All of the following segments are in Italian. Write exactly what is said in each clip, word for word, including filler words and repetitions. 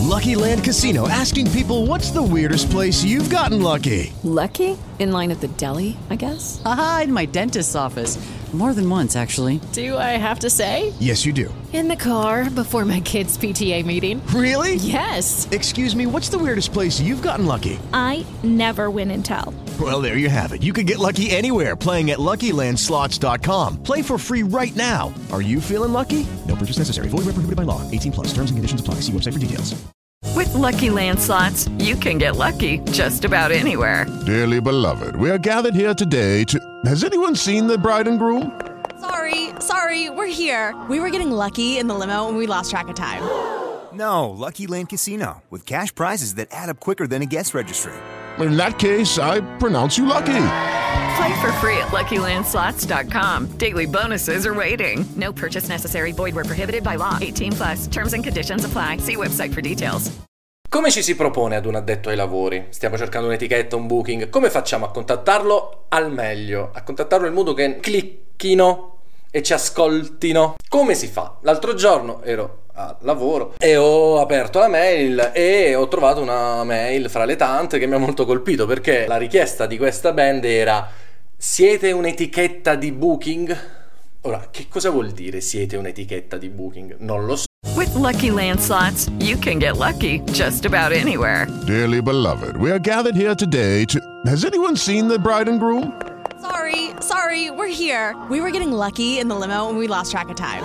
Lucky Land Casino, asking people, what's the weirdest place you've gotten lucky? Lucky? In line at the deli, I guess? Aha, in my dentist's office. More than once, actually. Do I have to say? Yes, you do. In the car before my kids' P T A meeting. Really? Yes. Excuse me, what's the weirdest place you've gotten lucky? I never win and tell. Well, there you have it. You can get lucky anywhere, playing at Lucky Land Slots dot com. Play for free right now. Are you feeling lucky? No purchase necessary. Void where prohibited by law. eighteen plus. Terms and conditions apply. See website for details. With Lucky Land Slots, you can get lucky just about anywhere. Dearly beloved, we are gathered here today to... Has anyone seen the bride and groom? Sorry, sorry, we're here. We were getting lucky in the limo and we lost track of time. No, Lucky Land Casino, with cash prizes that add up quicker than a guest registry. In that case, I pronounce you lucky. Play for free at Lucky Land Slots dot com. Daily bonuses are waiting. No purchase necessary. Void where prohibited by law. eighteen plus. Terms and conditions apply. See website for details. Come ci si propone ad un addetto ai lavori? Stiamo cercando un'etichetta, un booking. Come facciamo a contattarlo al meglio? A contattarlo in modo che clicchino e ci ascoltino? Come si fa? L'altro giorno ero al lavoro e ho aperto la mail e ho trovato una mail fra le tante che mi ha molto colpito, perché la richiesta di questa band era: siete un'etichetta di booking? Ora, che cosa vuol dire siete un'etichetta di booking? Non lo so. With Lucky Land Slots, you can get lucky just about anywhere. Dearly beloved, we are gathered here today to... Has anyone seen the bride and groom? Sorry, sorry, we're here. We were getting lucky in the limo and we lost track of time.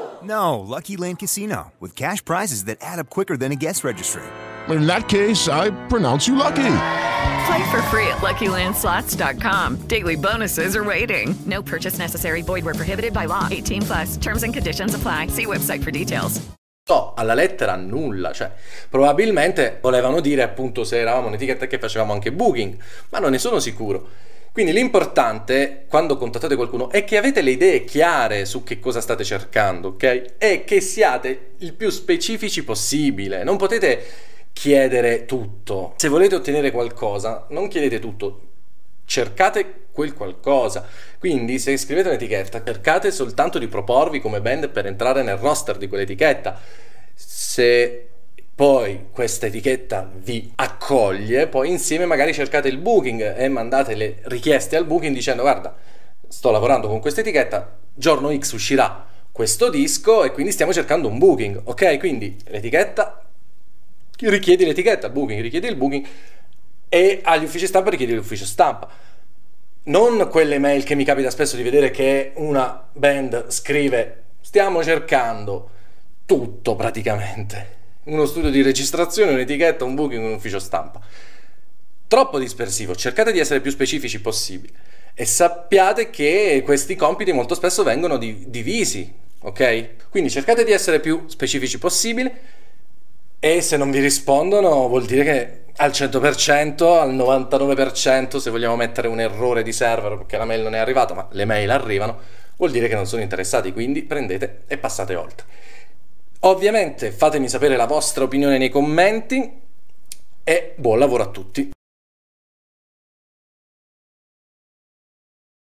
No, Lucky Land Casino, with cash prizes that add up quicker than a guest registry. In that case, I pronounce you lucky. Play for free at Lucky Land Slots dot com. Daily bonuses are waiting. No purchase necessary. Void where prohibited by law. eighteen plus. Terms and conditions apply. See website for details. No, alla lettera nulla, cioè probabilmente volevano dire appunto se eravamo un'etichetta che facevamo anche booking, ma non ne sono sicuro. Quindi l'importante quando contattate qualcuno è che avete le idee chiare su che cosa state cercando, ok? E che siate il più specifici possibile. Non potete chiedere tutto. Se volete ottenere qualcosa, non chiedete tutto, cercate quel qualcosa. Quindi se scrivete un'etichetta, cercate soltanto di proporvi come band per entrare nel roster di quell'etichetta. Se poi questa etichetta vi accoglie, poi insieme magari cercate il booking e mandate le richieste al booking dicendo: guarda, sto lavorando con questa etichetta, giorno X uscirà questo disco e quindi stiamo cercando un booking, ok? Quindi l'etichetta, richiedi l'etichetta, il booking, richiedi il booking, e agli uffici stampa richiedi l'ufficio stampa. Non quelle mail che mi capita spesso di vedere che una band scrive: stiamo cercando tutto praticamente, uno studio di registrazione, un'etichetta, un booking, un ufficio stampa. Troppo dispersivo. Cercate di essere più specifici possibile e sappiate che questi compiti molto spesso vengono di- divisi, ok? Quindi cercate di essere più specifici possibile. E se non vi rispondono vuol dire che al cento per cento, al novantanove per cento, se vogliamo mettere un errore di server perché la mail non è arrivata, ma le mail arrivano, vuol dire che non sono interessati, quindi prendete e passate oltre. Ovviamente fatemi sapere la vostra opinione nei commenti e buon lavoro a tutti.